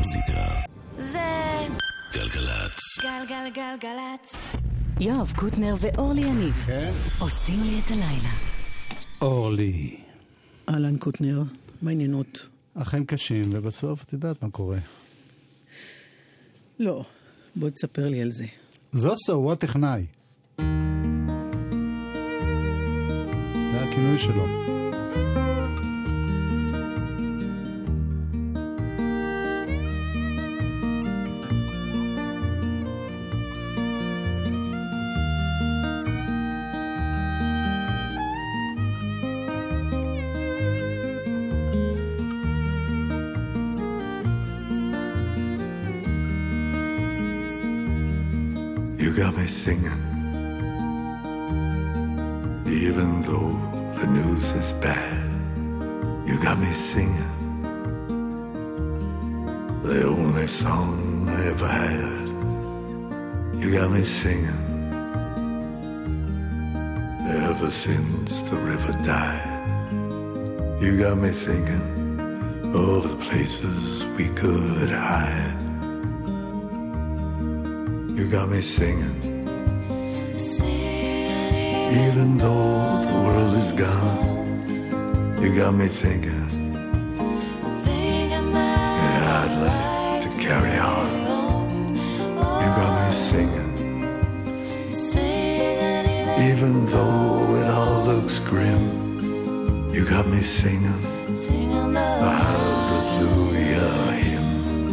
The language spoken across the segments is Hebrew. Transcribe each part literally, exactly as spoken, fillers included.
המוזיקה. זה גלגלצ. גלגלגלגלצ. יואב קוטנר ואורלי יניב כן? עושים לי את הלילה. אורלי. אהלן קוטנר, מה העניינות? החיים קשים, ובסוף את יודעת מה קורה. לא, בוא תספר לי על זה. זוסו הוא הטכנאי. זה הכינוי שלו. You got me singing, even though the news is bad. You got me singing, the only song I ever had. You got me singing, ever since the river died. You got me thinking of the places we could hide. You got me singing, even though the world is gone. You got me thinking, yeah, I'd like to carry on. You got me singing, even though it all looks grim. You got me singing the hallelujah hymn.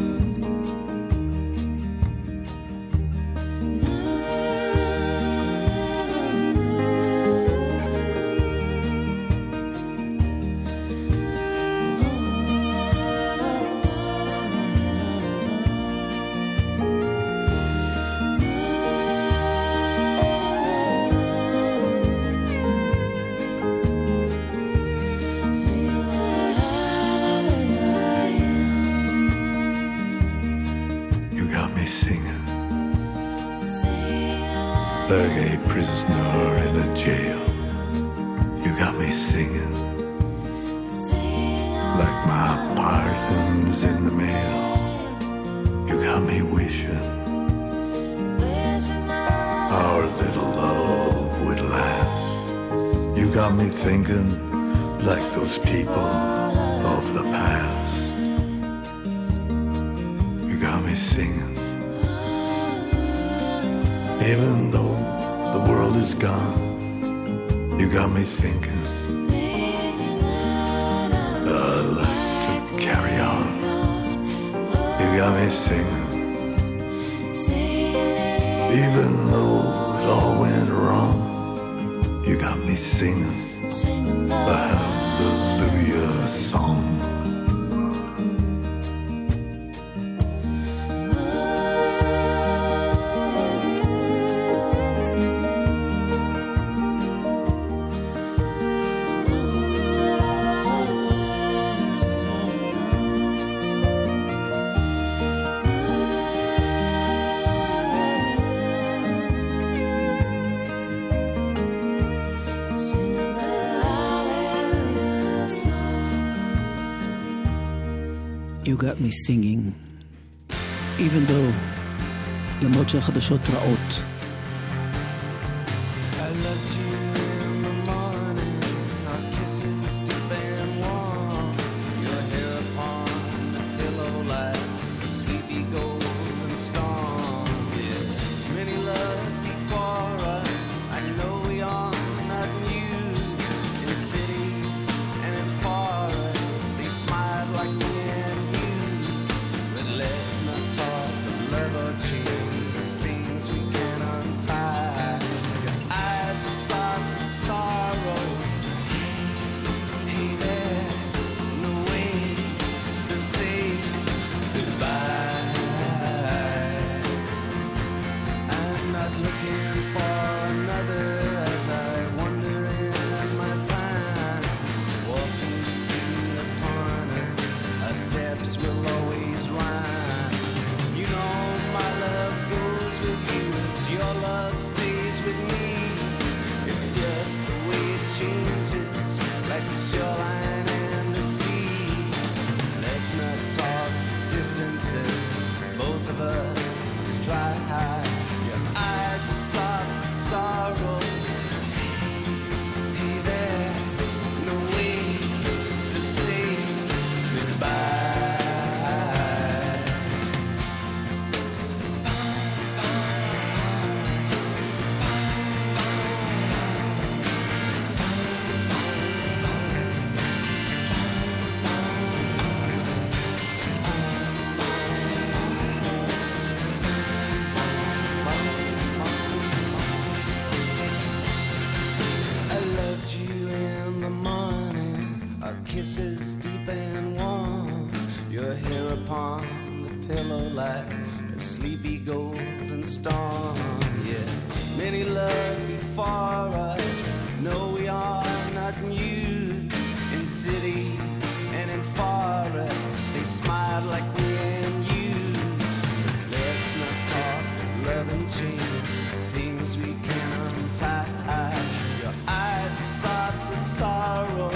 Like a prisoner in a jail. You got me singing, like my pardon's in the mail. You got me wishing our little love would last. You got me thinking like those people of the past. You got me singing, even though the world is gone. You got me thinking, I'd like to carry on. You got me singing, even though it all went wrong. You got me singing the hallelujah song. You got me singing, even though, למרות שהחדשות רעות. Let's not talk of love or chains and things we cannot says both of us must try. Your eyes are soft with sorrow. Hey, there's no way to say goodbye. Kisses deep and warm, your hair upon the pillow like a sleepy golden storm. Yeah, many love before us, no we are not new. In city and in forest, they smiled like me and you. But let's not talk of love and change, things we can untie. Your eyes are soft with sorrow.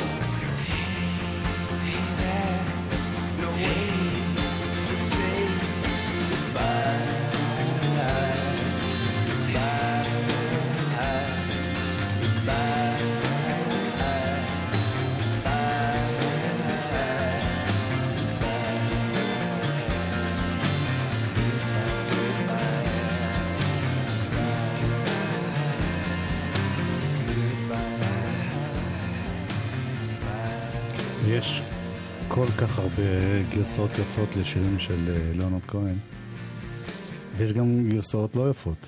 יש כל כך הרבה גרסאות יפות לשירים של ליאונרד כהן, ויש גם גרסאות לא יפות.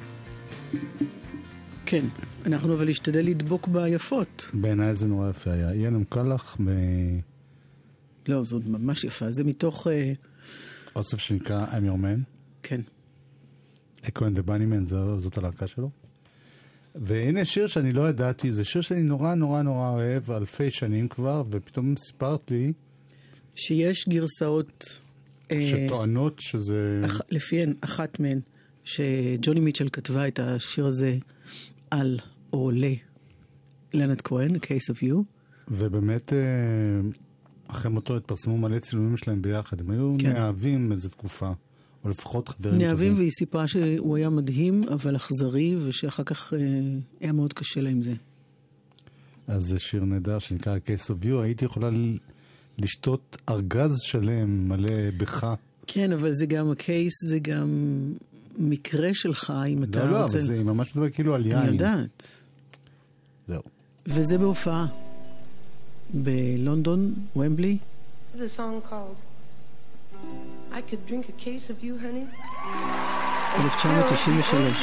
כן, אנחנו אבל להשתדל לדבוק ביפות. בעיניי זה נורא יפה היה. יהיה לנו קלח ב... לא, זאת ממש יפה. זה מתוך... אוסף שנקרא I'm Your Man. כן. כהן דה בנימן, זאת הלהקה שלו. והנה שיר שאני לא ידעתי, זה שיר שאני נורא נורא נורא אוהב, אלפי שנים כבר, ופתאום סיפרת לי... שיש גרסאות... שטוענות שזה... אח, לפיהן, אחת מהן, שג'וני מיטשל כתבה את השיר הזה על או ללנד כהן, Case of You. ובאמת, אחרי מותו התפרסמו מלא צילומים שלהם ביחד. הם היו כן. נאהבים איזו תקופה. או לפחות חברים טובים. נאהבים, והיא סיפרה שהוא היה מדהים, אבל אכזרי, ושאחר כך אה, היה מאוד קשה לה עם זה. אז זה שיר נהדר שנקרא Case of You. הייתי יכולה לשתות ארגז שלם מלא בך. כן, אבל זה גם הקייס, זה גם מקרה שלך, אם אתה לא, רוצה... לא, אבל זה ממש מדבר כאילו על יין. אני יודעת. זהו. וזה בהופעה. בלונדון, ומבלי. There's a song called I could drink a case of you, honey. אלף תשע מאות תשעים ושלוש.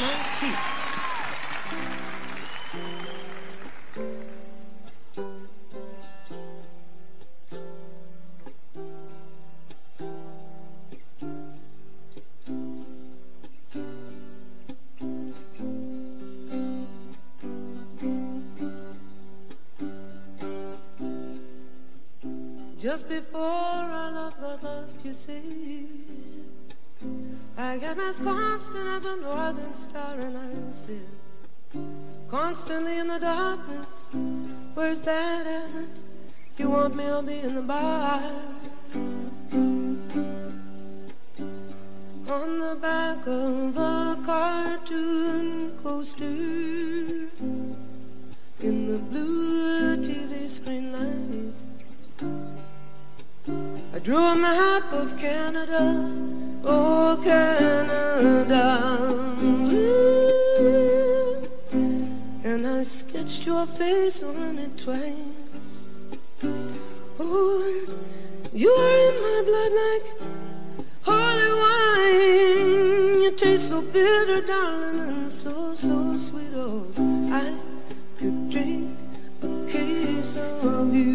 Just before our love got lost, you see, I got as constant as a northern star, and I sit constantly in the darkness. Where's that at? You want me, I'll be in the bar. On the back of a cartoon coaster, in the blue T V screen light, I drew a map of Canada, oh Canada, ooh, and I sketched your face on it twice. Oh, you are in my blood like holy wine. You taste so bitter, darling, and so, so sweet. Oh, I could drink a case of you.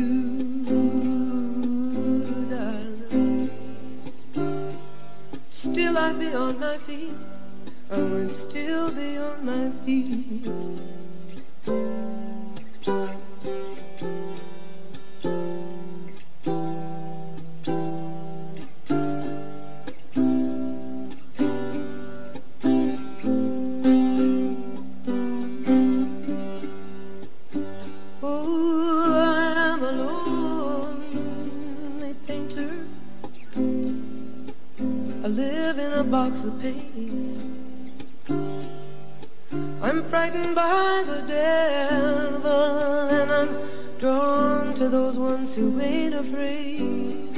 Still I'd be on my feet, I would still be on my feet. I live in a box of paste. I'm frightened by the devil, and I'm drawn to those ones who ain't afraid.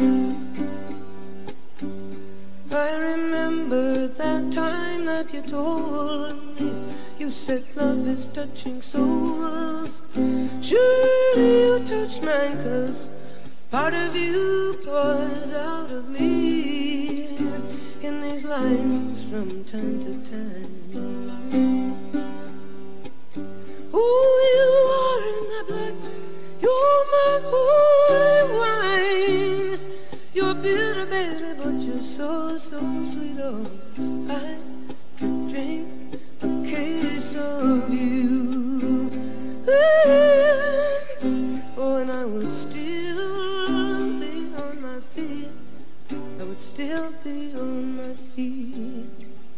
I remember that time that you told me, you said love is touching souls. Surely you touched mine, 'cause part of you pours out of me in these lines from time to time. Oh, you are in my blood, you're my holy wine. You're bitter, baby, but you're so, so sweet. Oh, I could drink a case of you. Oh, and I would still be on my feet. I would still be on my feet.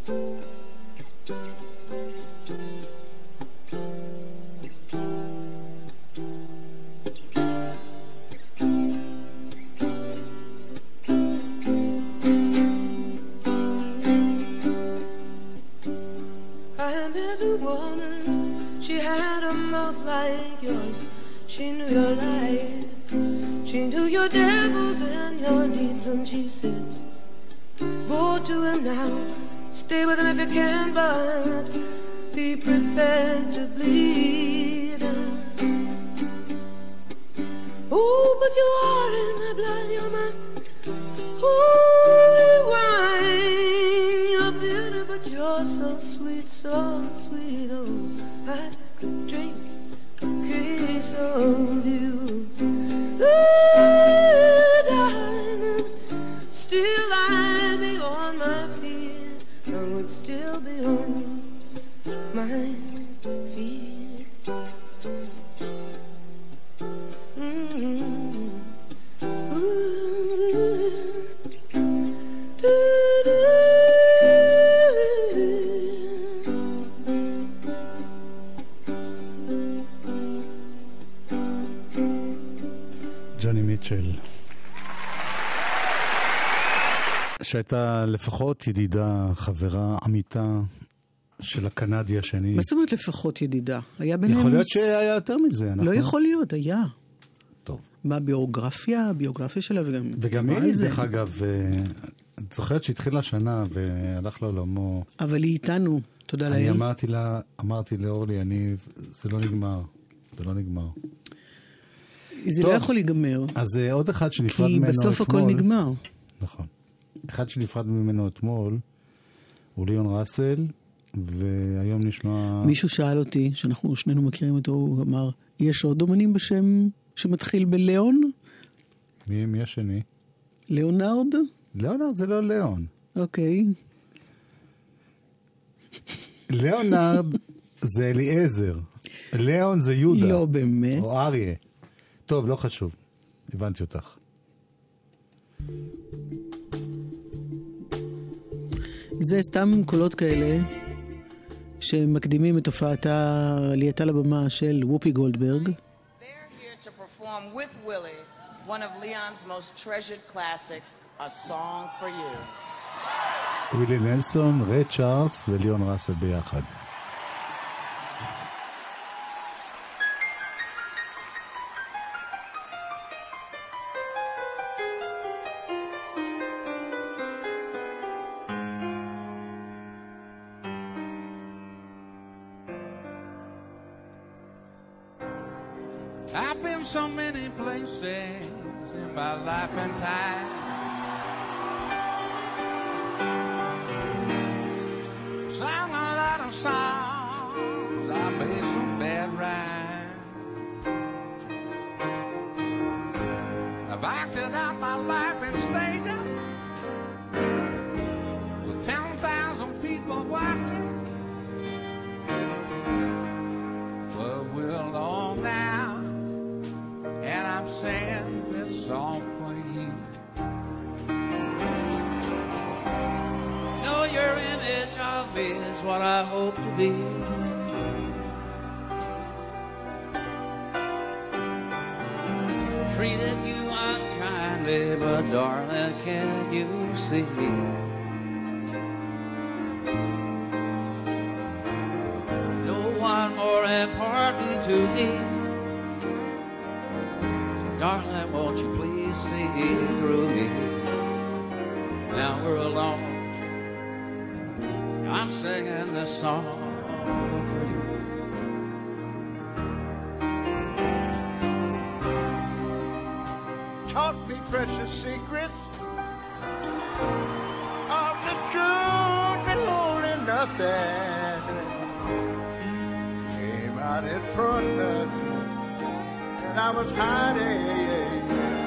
Like yours, she knew your life, she knew your devils and your needs, and she said, go to him now, stay with him if you can, but be prepared to bleed. Oh, but you are in my blood, you're my holy wine. You're bitter, but you're so sweet, so sweet. Oh, I could drink a case of you, ooh, darling. Still I'd be on my feet. I would still be on my feet. Mm-hmm. Ooh. Do-do. ג'וני מיטשל, שהייתה לפחות ידידה, חברה, עמיתה של הקנדי השני. מה זאת אומרת לפחות ידידה? היה ביניהם... יכול להיות שהיה יותר מזה. לא יכול להיות, היה. טוב. מה, ביוגרפיה? הביוגרפיה שלה וגם... וגם היא, דרך אגב, את זוכרת שהתחילה השנה והלך לעולמו. אבל היא איתנו, תודה לאל. אני אמרתי לה, אמרתי לאורלי יניב, זה לא נגמר. זה לא נגמר. זה לא יכול להיגמר. אז עוד אחד שנפרד ממנו אתמול. כי בסוף הכל נגמר. נכון. אחד שנפרד ממנו אתמול, הוא ליאון ראסל, והיום נשמע... מישהו שאל אותי, שאנחנו שנינו מכירים אותו, הוא אמר, יש עוד אומנים בשם שמתחיל בליאון? מי, מי השני? ליאונרד? ליאונרד זה לא ליאון. אוקיי. ליאונרד זה אליעזר. ליאון זה יהודה. לא באמת. או אריה. טוב, לא חשוב. הבנתי אותך. זה סתם קולות כאלה שמקדימים את הופעתה עלייתה לבמה של וופי גולדברג. They're here to perform with Willie one of Leon's most treasured classics, A Song for You. ווילי נלסון, ריי צ'ארלס וליאון ראסל ביחד. I've been so many places in my life and time. Sang a lot of songs, I made some bad rhymes. I've acted out my life in stages with ten thousand people watching. But we're alone now, and I'm singing this song for you. You know your image of me is what I hope to be. Treated you unkindly, but darling, can you see? to me. Darling, won't you please see through me? Now we're alone. I'm singing this song for you. Taught me precious secrets of the truth and holding nothing. Came out in front and I was hiding.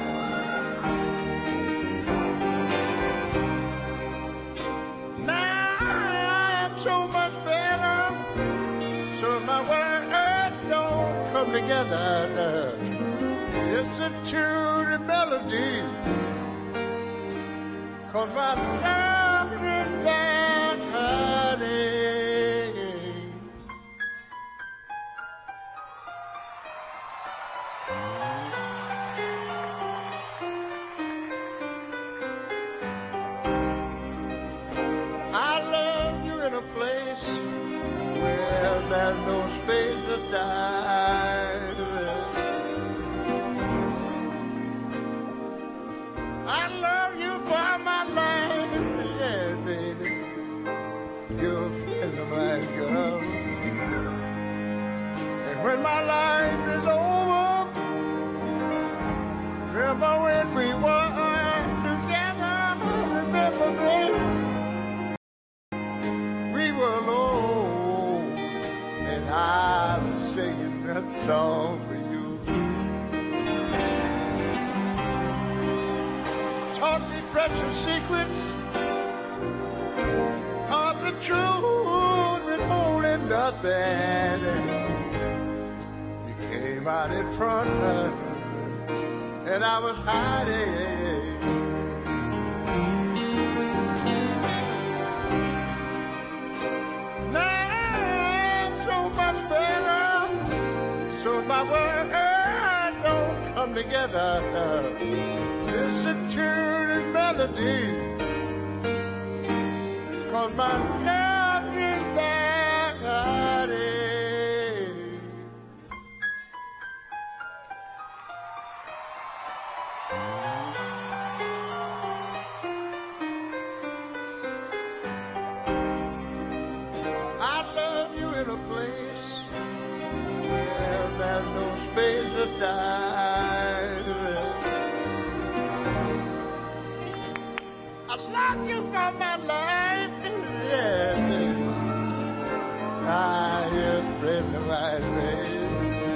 Now I am so much better, so my words don't come together. Listen to the melody, 'cause my love is that hiding. I love you in a place where there's no space to die. I love you for my life, yeah, baby. You're a friend of mine, girl. And when my life is over, remember when we were together, remember, baby, we were alone, and I was singing that song for you. Taught me precious secrets of the truth withholding nothing. You came out in front and I was hiding. Now I'm so much better, so my words don't come together. Listen to the melody, 'cause my love is that hiding. I love you in a place where there's no space to die. I love you for my life, yeah. Ah, you're a friend of mine, baby.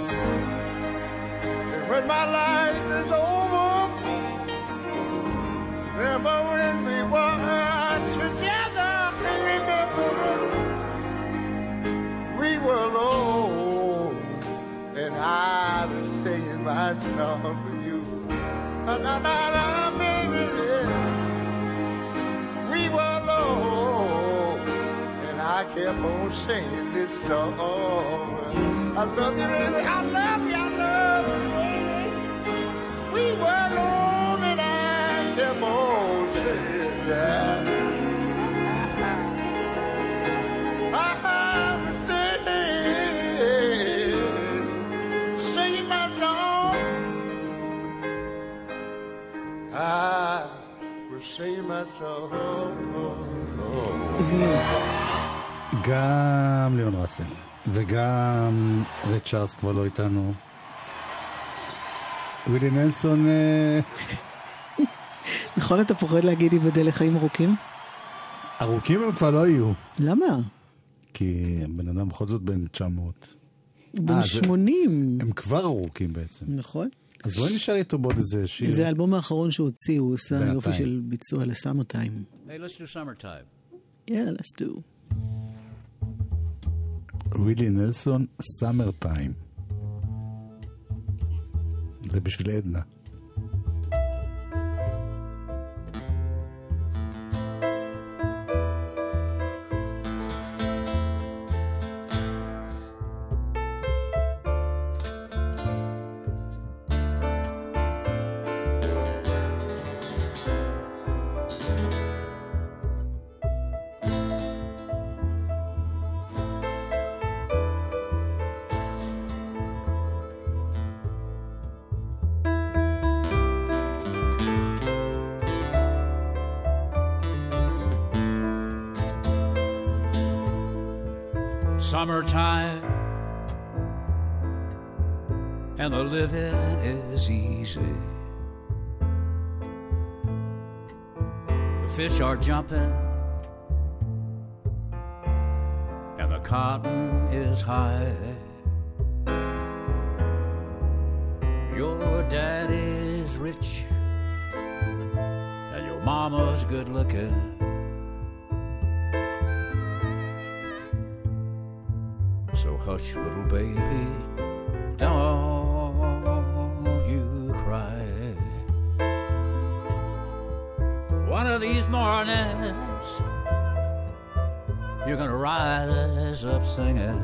And when my life is over, remember when we were together, remember we were alone, and I was singing my song for you. Na na na na, baby, yeah. We were alone, and I kept on singing this song. I love you, baby, I love you, I love you, baby. We were alone, and I kept on singing that. I was singing, singing my song. I was singing my song. אוזניות. גם ליאון ראסל וגם רד צ'ארלס כבר לא איתנו. ווילי נלסון, נכון, אתה פוחד להגיד ייבדל לחיים ארוכים? ארוכים הם כבר לא יהיו, למה? כי הבן אדם בכל זאת בן תשע מאות. בן אה, זה- שמונים. הם כבר ארוכים בעצם. נכון. אז לא נשאר איתו בעוד איזה שיר. זה האלבום האחרון שהוא הוציא, הוא עושה בינתיים. יופי של ביצוע לסאמר טיים. Hey, let's do summertime. Yeah, let's do. ווילי נלסון, סאמר טיים. זה בשביל עדנה. Summertime, and the living is easy. The fish are jumping, and the cotton is high. Your daddy's rich, and your mama's good looking. So hush, little baby, don't you cry. One of these mornings, you're gonna rise up singing,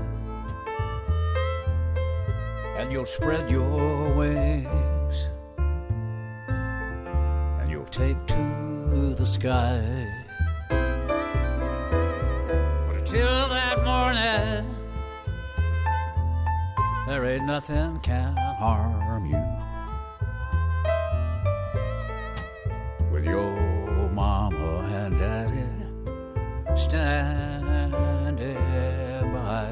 and you'll spread your wings, and you'll take to the sky. But until that morning, there ain't nothing can harm you. With your mama and daddy standing by.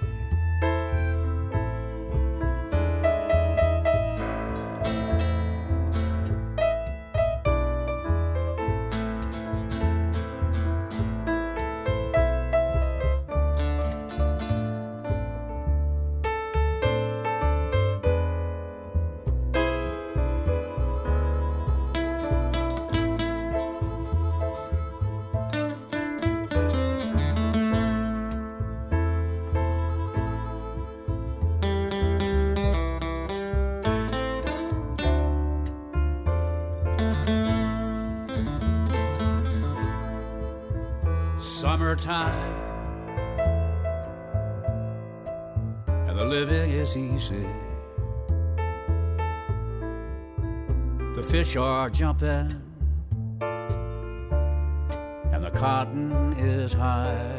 Summertime, and the living is easy. The fish are jumping, and the cotton is high.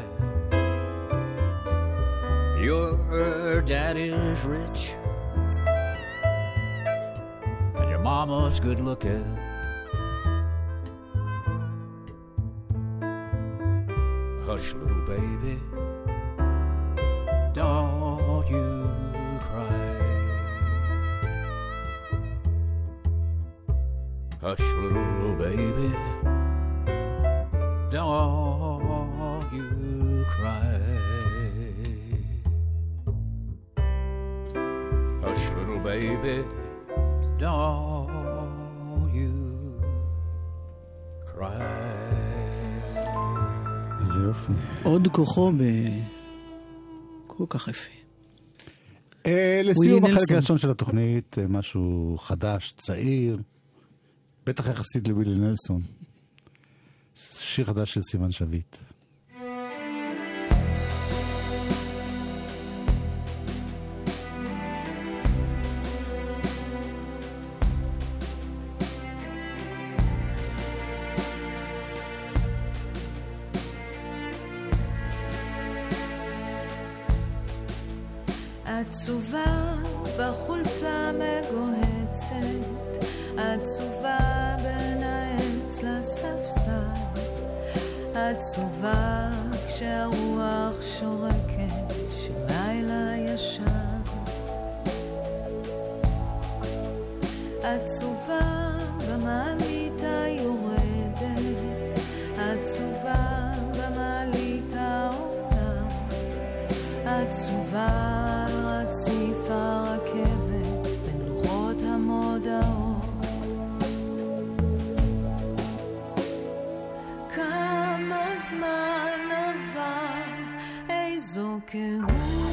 Your daddy's rich, and your mama's good looking. Hush, little baby, don't you cry. Hush, little baby, don't you cry. Hush, little baby, don't you cry. זה יופי. עוד כוחו ב... כל כך יפה. לסיום החלק הראשון של התוכנית, משהו חדש, צעיר, בטח יחסית לווילי נלסון. שיר חדש של סיוון שביט. עצובה בחולצה מגוהצת, עצובה בין העץ לספסל, עצובה כשהרוח שורקת של לילה ישן, עצובה במעלית היורדת, עצובה במעלית העולה, עצובה רציף הרכבת בין לוחות המודעות, כמה זמן עבר, איזו קהות,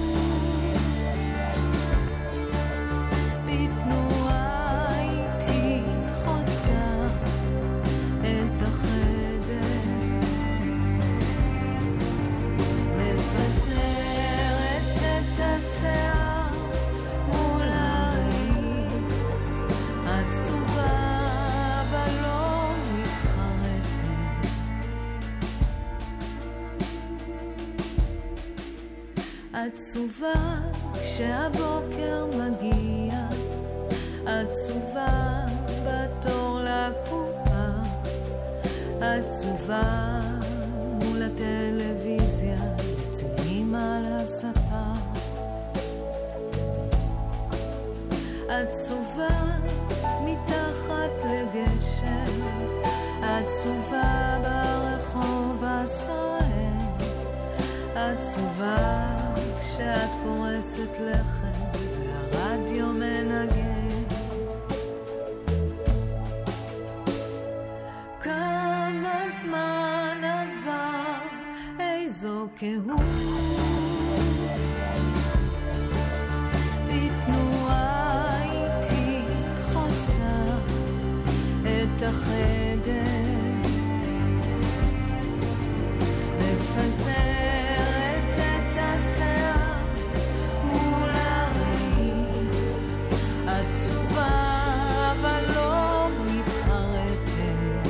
בתנועה איטית חוצה את החדר, מפזרת את השיער מול הראי, עצובה אבל לא מתחרטת, עצובה כשהבוקר מגיע, עצובה בתור לקופה, עצובה מול הטלוויזיה אצל אמא על הספה, עצובה מתחת לגשר, עצובה ברחוב הסוער, עצובה כשאת פורסת לחם והרדיו מנגן. כמה זמן עבר, איזו קהות, בתנועה איטית חוצה את החדר, מפזרת את השיער מול הראי, עצובה אבל לא מתחרטת.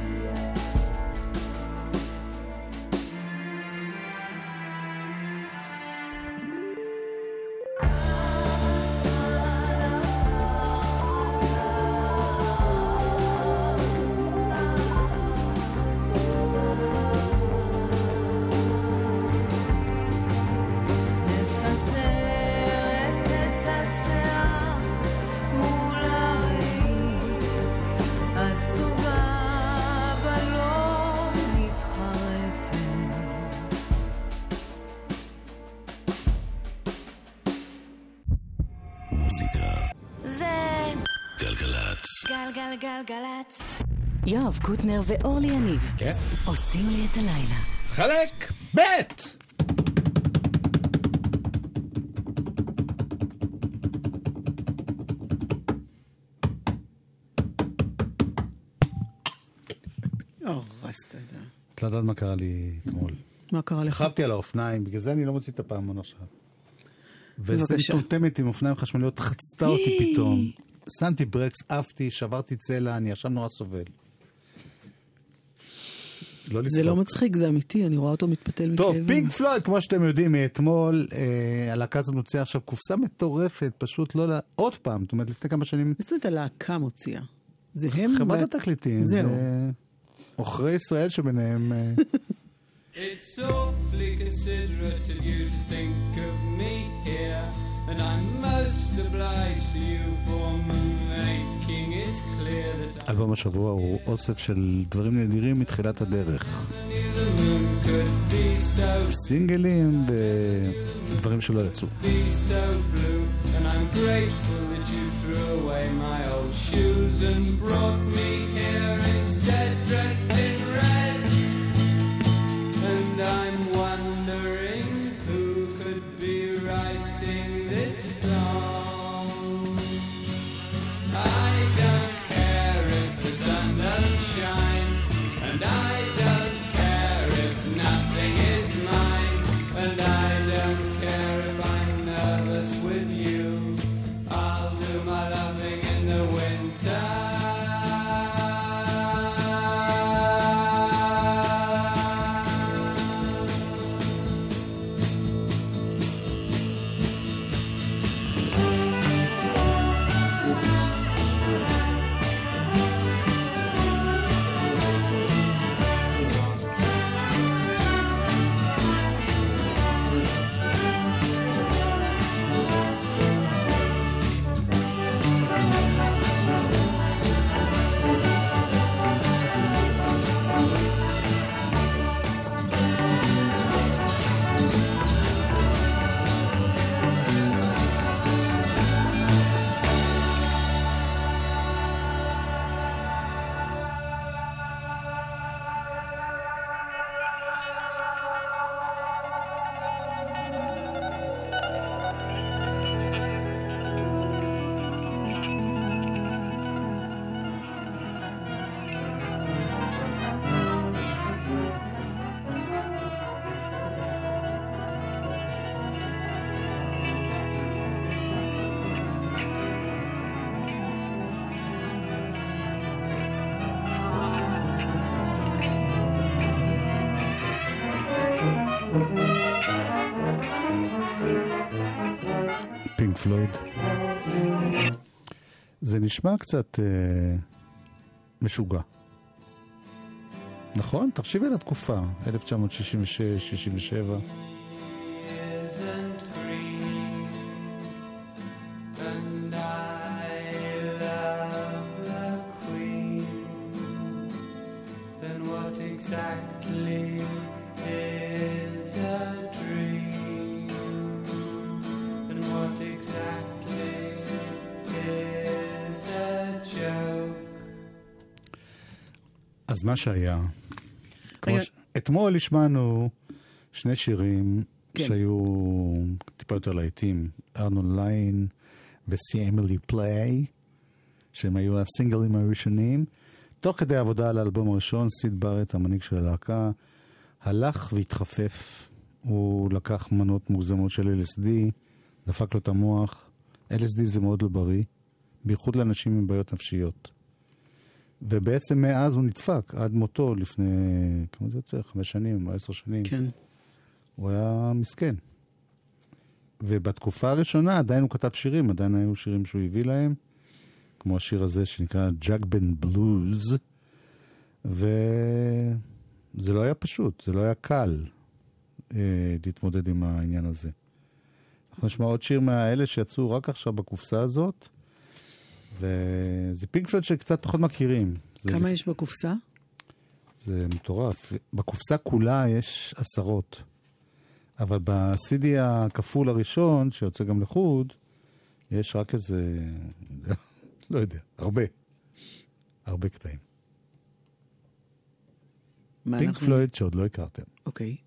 גלגלצ. יואב קוטנר ואורלי יניב. כן. עושים לי את הלילה. חלק בית! או, רסת את זה. את לא יודעת מה קרה לי אתמול. מה קרה לך? חבתי על האופניים, בגלל זה אני לא מוציא את הפעמון עכשיו. וזה מטומטמת עם אופניים חשמליות, חצתה אותי פתאום. שמתי ברקס, עפתי, שברתי צלע, אני עכשיו נורא סובל. לא לצחוק. זה לא מצחיק, זה אמיתי, אני רואה אותו מתפתל מכאבים. טוב, פינק פלויד, כמו שאתם יודעים, מאתמול, אה, הלהקה הזאת מוציאה עכשיו קופסה מטורפת, פשוט לא... לה... עוד פעם, זאת אומרת, לפני כמה שנים... זאת אומרת, הלהקה מוציאה. זה הם... חברת התקליטים. זהו. אוכרי ישראל שביניהם... It's awfully considerate of you to think of me here, and I'm most obliged to you for making it clear that אלבום השבוע הוא אוסף של דברים נדירים מתחילת הדרך. סינגלים ודברים שלא יצאו. be so blue, and I'm grateful that you threw away my old shoes and brought me here instead dressed in red. And I'm wondering who could be writing this song. I don't care if the sun doesn't shine, and I don't care if nothing is mine, and I don't care if I'm nervous with you. I'll do my loving in the winter. פינק פלויד. זה נשמע קצת אה, משוגע. נכון? תחשיבי על התקופה, אלף תשע מאות שישים ושש שישים ושבע. exactly is a dream? And what exactly is a joke? אז מה שהיה, כמו רגע. ש... אתמול השמענו שני שירים כן. שהיו טיפה יותר להיטים, ארנון ליין וסי אמילי פליי, שהם היו הסינגלים הראשונים. תוך כדי העבודה על האלבום הראשון, סיד בארט, המנהיג של הלהקה, הלך והתחפף. הוא לקח מנות מוגזמות של אל אס די, דפק לו את המוח. אל אס די זה מאוד לא בריא, בייחוד לאנשים עם בעיות נפשיות. ובעצם מאז הוא נדפק, עד מותו לפני, כמה זה יוצא? חמש שנים או עשר שנים. כן. הוא היה מסכן. ובתקופה הראשונה עדיין הוא כתב שירים, עדיין היו שירים שהוא הביא להם, כמו השיר הזה שנקרא ג'אגבן בלוז, וזה לא היה פשוט, זה לא היה קל אה, להתמודד עם העניין הזה. אנחנו נשמע עוד שיר מהאלה שיצאו רק עכשיו בקופסה הזאת, וזה פינק פלויד שקצת פחות מכירים. כמה זה... יש בקופסה? זה מטורף. בקופסה כולה יש עשרות. אבל ב-סי די הכפול הראשון, שיוצא גם לחוד, יש רק איזה, לא יודע, הרבה. הרבה קטעים. מה פינק אנחנו- פלויד שעוד לא הכרתם. אוקיי.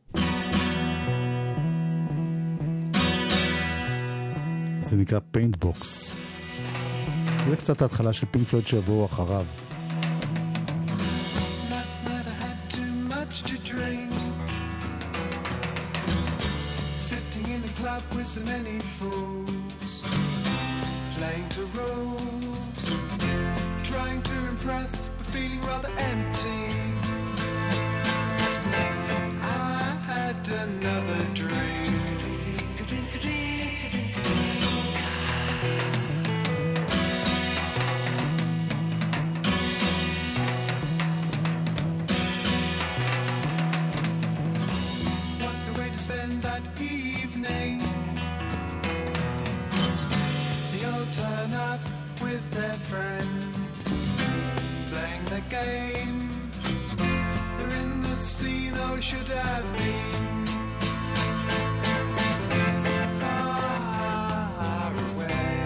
זה נקרא פיינטבוקס. זה קצת ההתחלה של פינק פלויד שיבואו אחריו. Last night I had too much to drink. Sitting in a club with so many fools, playing to rules, trying to impress, but feeling rather empty. I had another drink. Drink, a drink, a drink, a drink, a drink. What a way to spend that evening. They all turn up with their friends, playing the game. They're in the scene I should have been. Far away.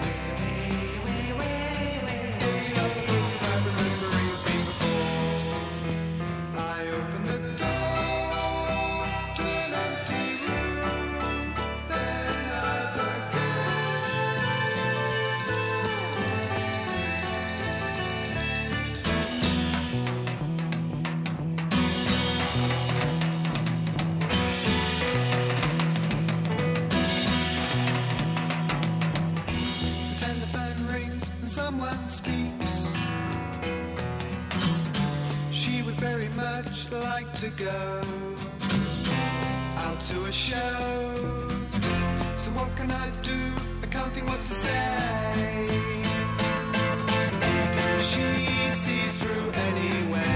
Getting up the first time remembering what's been before. I opened the door to an empty room. Then I pretend the phone rings and someone speaks. She would very much like to go out to a show. So what can I do? I can't think what to say. She sees through anyway.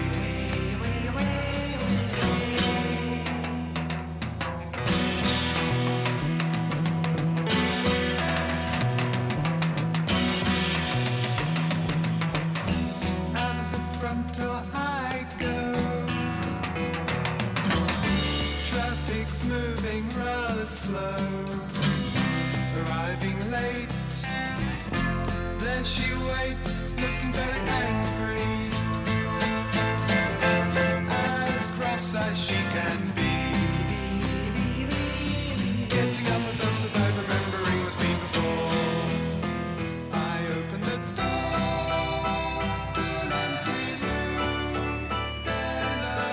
Out of the front door I go. Traffic's moving rather slow. Arriving late. There she waits, looking very angry. As cross as she can be. Getting up with us about remembering what's been before. I open the door to an empty room. Then I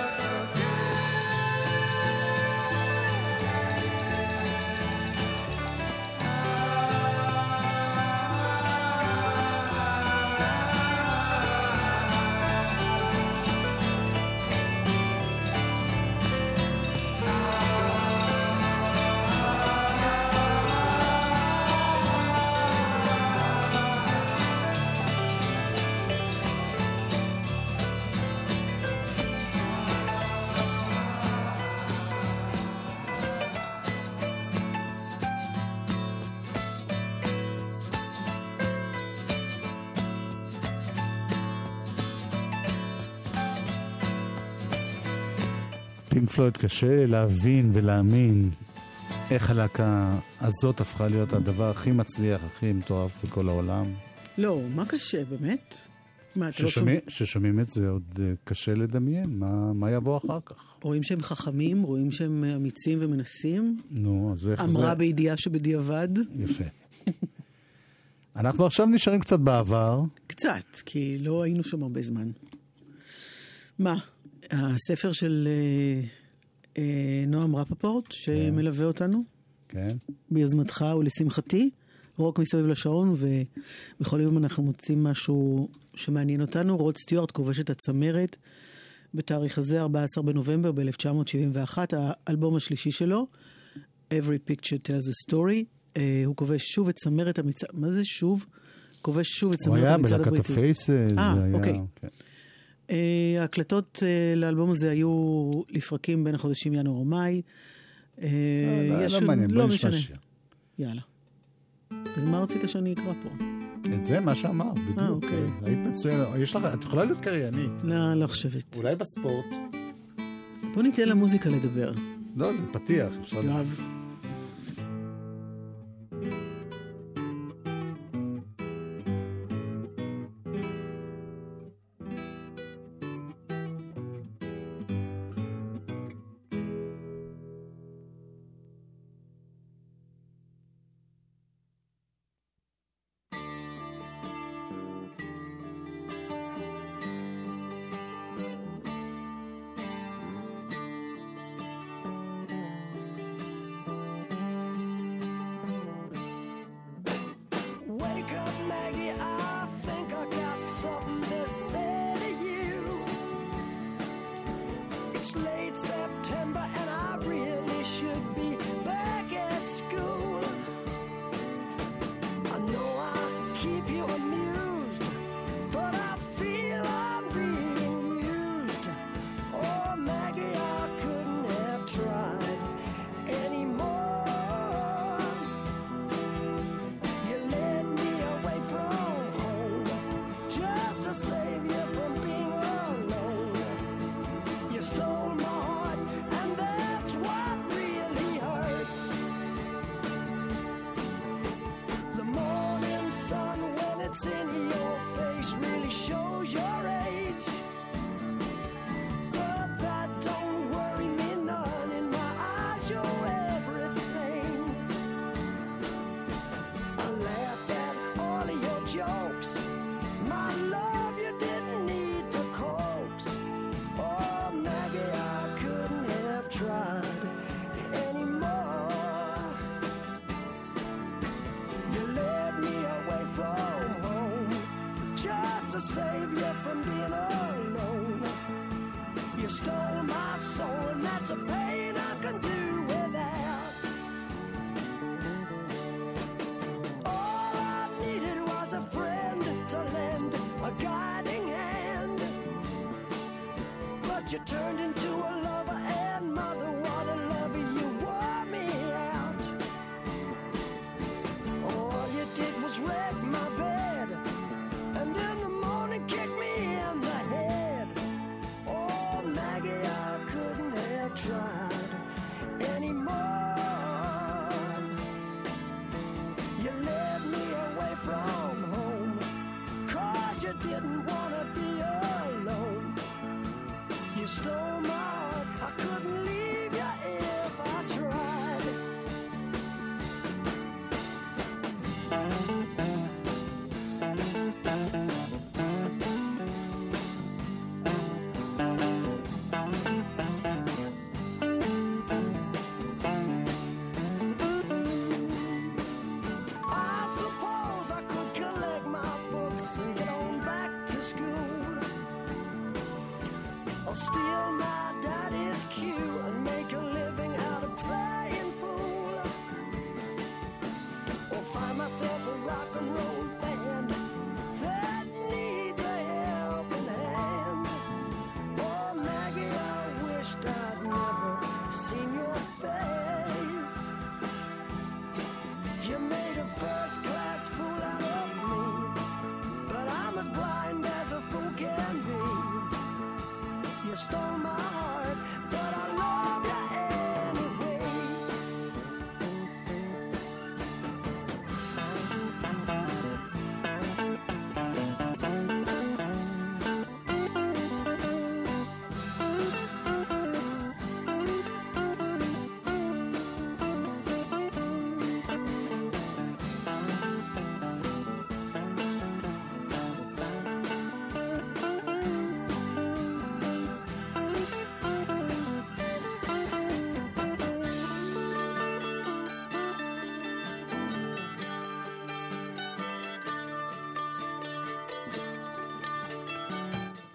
forget. פינק פלויד, קשה להבין ולהאמין איך הלהקה הזאת הפכה להיות הדבר הכי מצליח, הכי מטורף בכל העולם. לא, מה קשה, באמת? מה, אתה לא ששומע, שומע? ששומעים את זה עוד אה, קשה לדמיין, מה, מה יבוא אחר כך? רואים שהם חכמים, רואים שהם אמיצים ומנסים. נו, אז איך אמרה זה... בידיעה שבדיעבד. יפה. אנחנו עכשיו נשארים קצת בעבר. קצת, כי לא היינו שם הרבה זמן. מה? הספר של אה, אה, נועם רפפורט, שמלווה אותנו, כן. ביוזמתך ולשמחתי, רוק מסביב לשעון, ובכל יום אנחנו מוצאים משהו שמעניין אותנו. רוד סטיוארט כובש את הצמרת בתאריך הזה, ארבעה עשר בנובמבר ב-אלף תשע מאות שבעים ואחת, האלבום השלישי שלו, Every Picture Tells a Story. Uh, הוא כובש שוב את צמרת המצעד, מה זה שוב? כובש שוב את צמרת המצעד הבריטי. הוא היה בלהקת הפייסס. אה, אוקיי. כן. Uh, ההקלטות uh, לאלבום הזה היו לפרקים בין החודשים ינואר ומאי. Uh, לא מעניין, בוא נשמע שיר. יאללה. אז מה רצית שאני אקרא פה? את זה, מה שאמר, בדיוק. אה, אוקיי. היית מצוין. יש לך, את יכולה להיות קריינית. לא, לא חושבת. אולי בספורט. בוא ניתן למוזיקה לדבר. לא, זה פתיח. אפשר... יואב. You turned into a lover and mother, what a lover, you wore me out. All you did was wreck my bed, and in the morning kick me in the head. Oh, Maggie, I couldn't have tried anymore. You led me away from home, 'cause you didn't want to be alone. You stole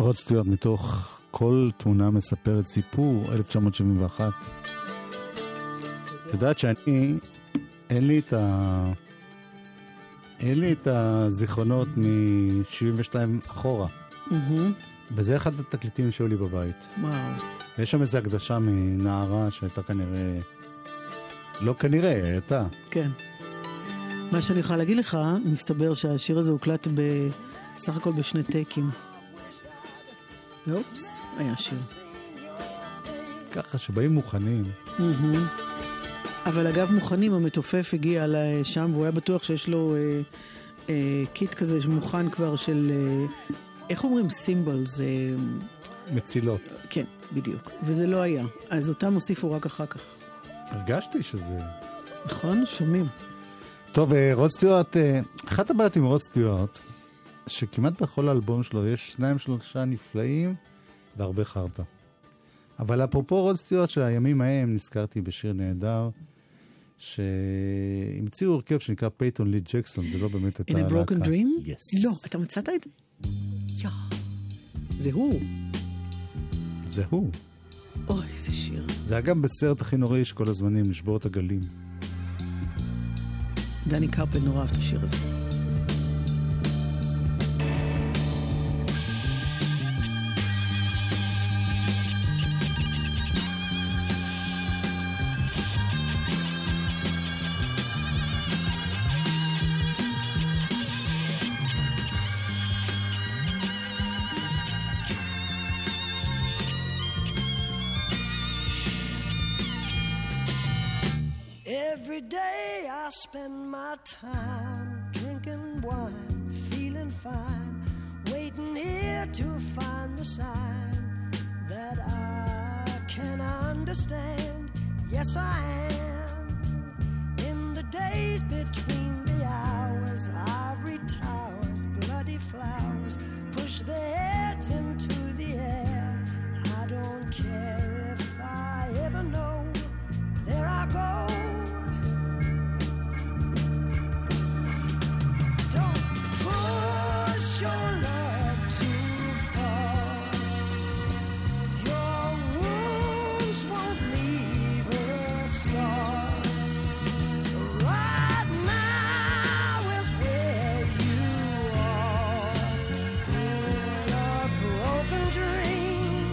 רוד סטיוארט מתוך כל תמונה מספרת סיפור, אלף תשע מאות שבעים ואחת. את יודעת שאני, אין לי את ה... אין לי את הזיכרונות מ-שבעים ושתיים אחורה. וזה אחד התקליטים שהיו לי בבית. וואו. ויש שם איזו הקדשה מנערה שהייתה כנראה... לא כנראה, הייתה. כן. מה שאני יכולה להגיד לך, מסתבר שהשיר הזה הוקלט בסך הכל בשני טייקים. ואופס, היה שיר. ככה שבאים מוכנים. אבל אגב מוכנים, המתופף הגיע לשם, והוא היה בטוח שיש לו אה, אה, קיט כזה מוכן כבר של, אה, איך אומרים? סימבולס. אה, מצילות. כן, בדיוק. וזה לא היה. אז אותם הוסיפו רק אחר כך. הרגשתי שזה... נכון? שומעים. טוב, רוד סטיוארט, אחת הבעיות עם רוד סטיוארט, שכמעט בכל האלבום שלו יש שניים שלושה נפלאים והרבה חרטה. אבל אפרופו רוד סטיוארט של הימים ההם, נזכרתי בשיר נהדר, שהמציאו הרכב שנקרא פייטון לי ג'קסון, זה לא באמת הייתה In a broken להקה. dream? Yes. לא, אתה מצאת את זה? יא. זה הוא. זה הוא. אוי, איזה שיר. זה היה גם בסרט הכי נוראי שכל הזמנים, לשבור את הגלים. דני קרפל נורא אהב את השיר הזה. Every day I spend my time drinking wine, feeling fine, waiting here to find the sign that I can understand. Yes, I am. In the days between the hours, ivory towers, bloody flowers push their heads into the air. I don't care if I ever know. There I go. Your love too far. Your wounds won't leave a scar. Right now is where you are, in a broken dream.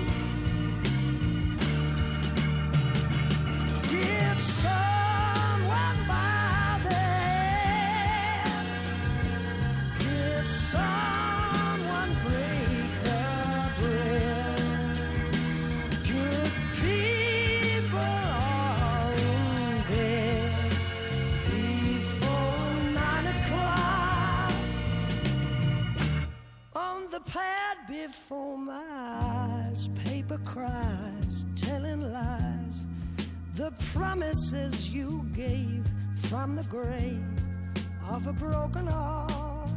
Did someone buy the hand? Did someone before my eyes, paper cries, telling lies. The promises you gave from the grave of a broken heart.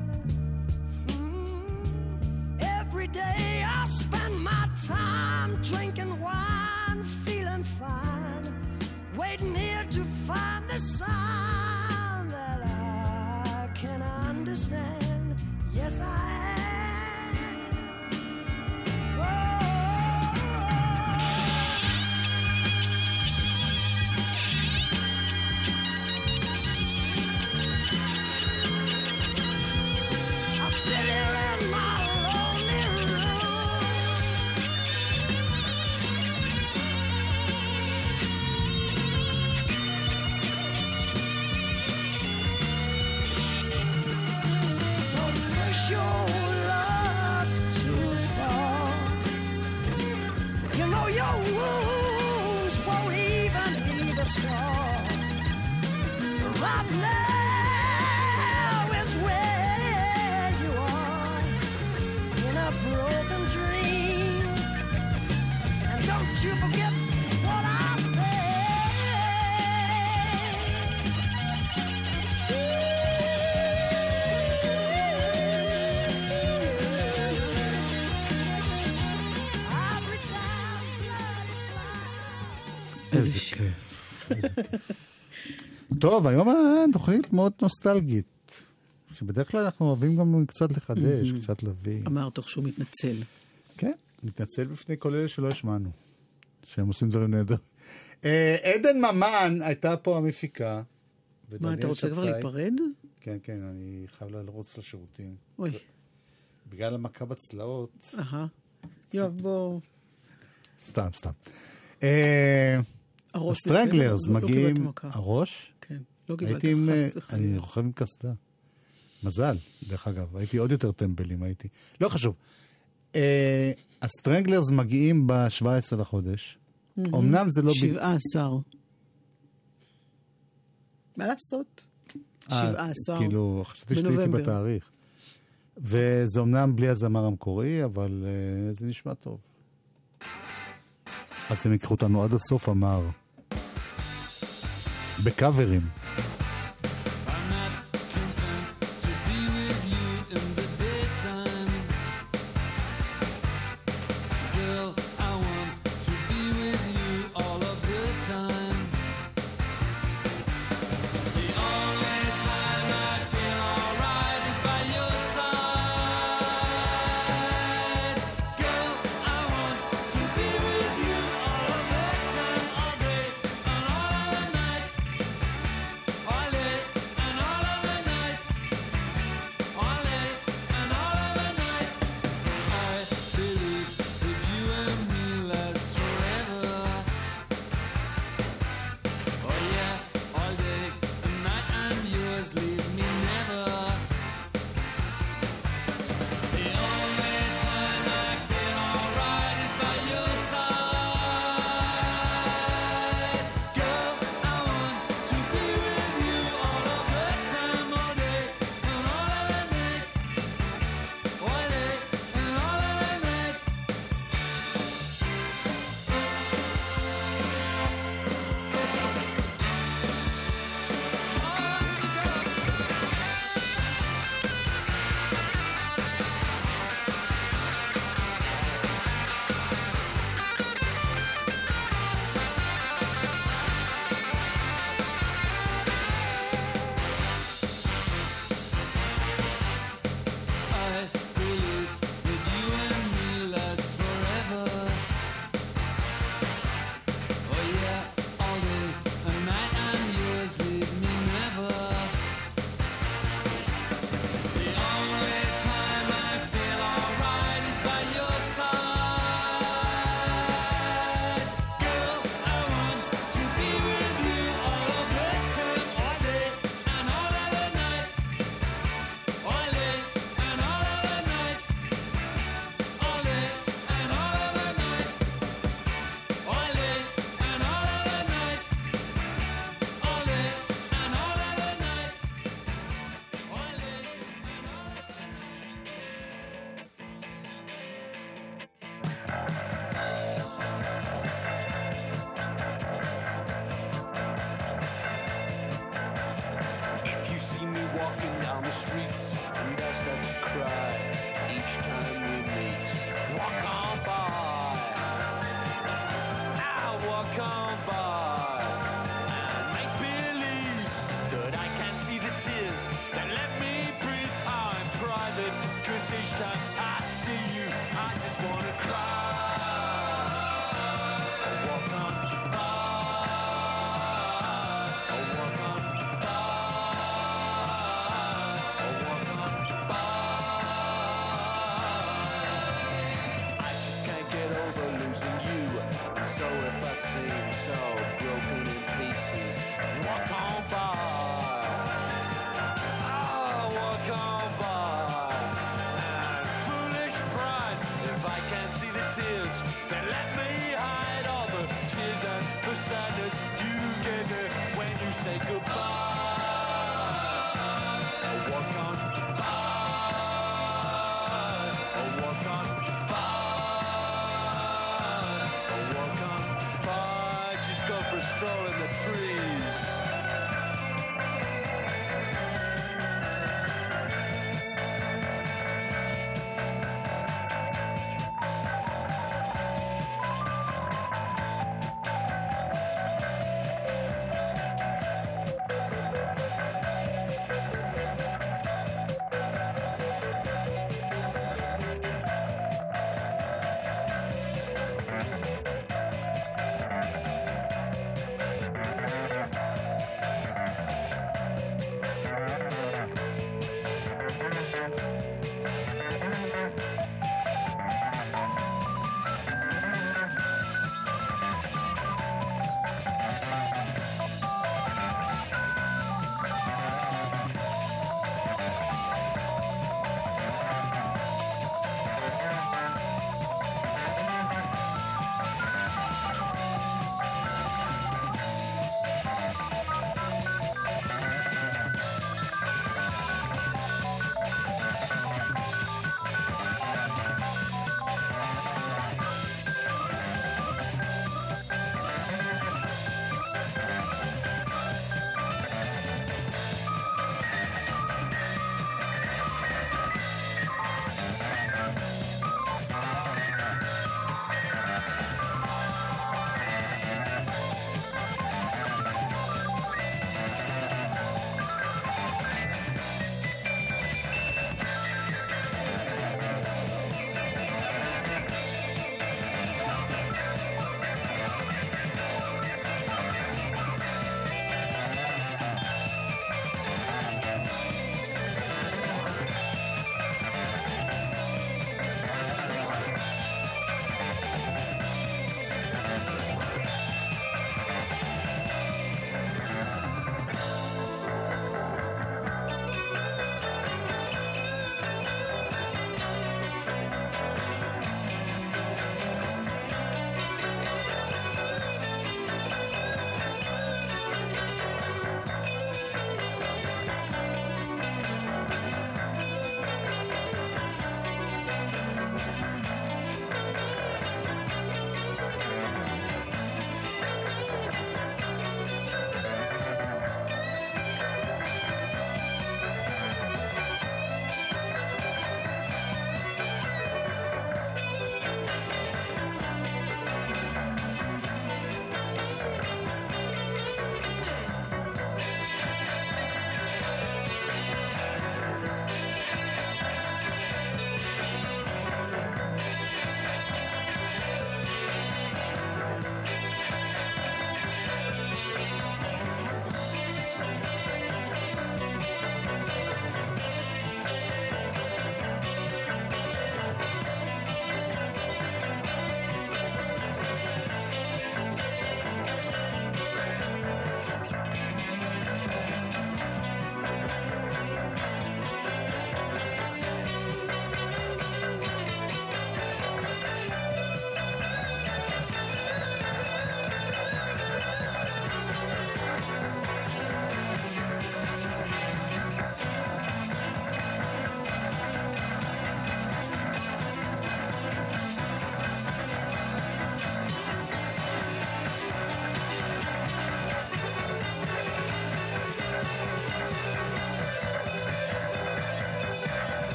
Mm. Every day I spend my time drinking wine, feeling fine, waiting here to find the sign that I can understand. Yes, I am. Right now is where you are, in a broken dream. And don't you forget what I said. איזה כיף. טוב, היום התוכנית מאוד נוסטלגית, שבדרך כלל אנחנו אוהבים גם קצת לחדש, קצת להביא. אמר תוך שהוא מתנצל. כן, מתנצל בפני כל אלה שלא השמענו, שהם עושים דברים נהדר. עדן ממן הייתה פה המפיקה. מה, אתה רוצה כבר להיפרד? כן, כן, אני חייב לרוץ לשירותים. אוי. בגלל המכה בצלעות. אהה. יוב, בוא. סתם, סתם. הסטרנגלרס מגיעים... הראש? כן, לא קיבלת חס וחלילה. אני רוכב עם קסדה. מזל, דרך אגב. הייתי עוד יותר טמבלים, הייתי. לא חשוב. הסטרנגלרס מגיעים ב-שבעה עשר לחודש. אמנם זה לא... שבעה עשר. מה לעשות? שבעה עשר. כאילו, חשבתי שתהייתי בתאריך. וזה אמנם בלי הזמר המקורי, אבל uh, זה נשמע טוב. אז הם יקחו אותנו עד הסוף, אמר. בקאברים.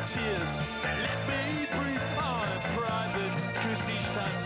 tears and let me breathe on in private, 'cause each time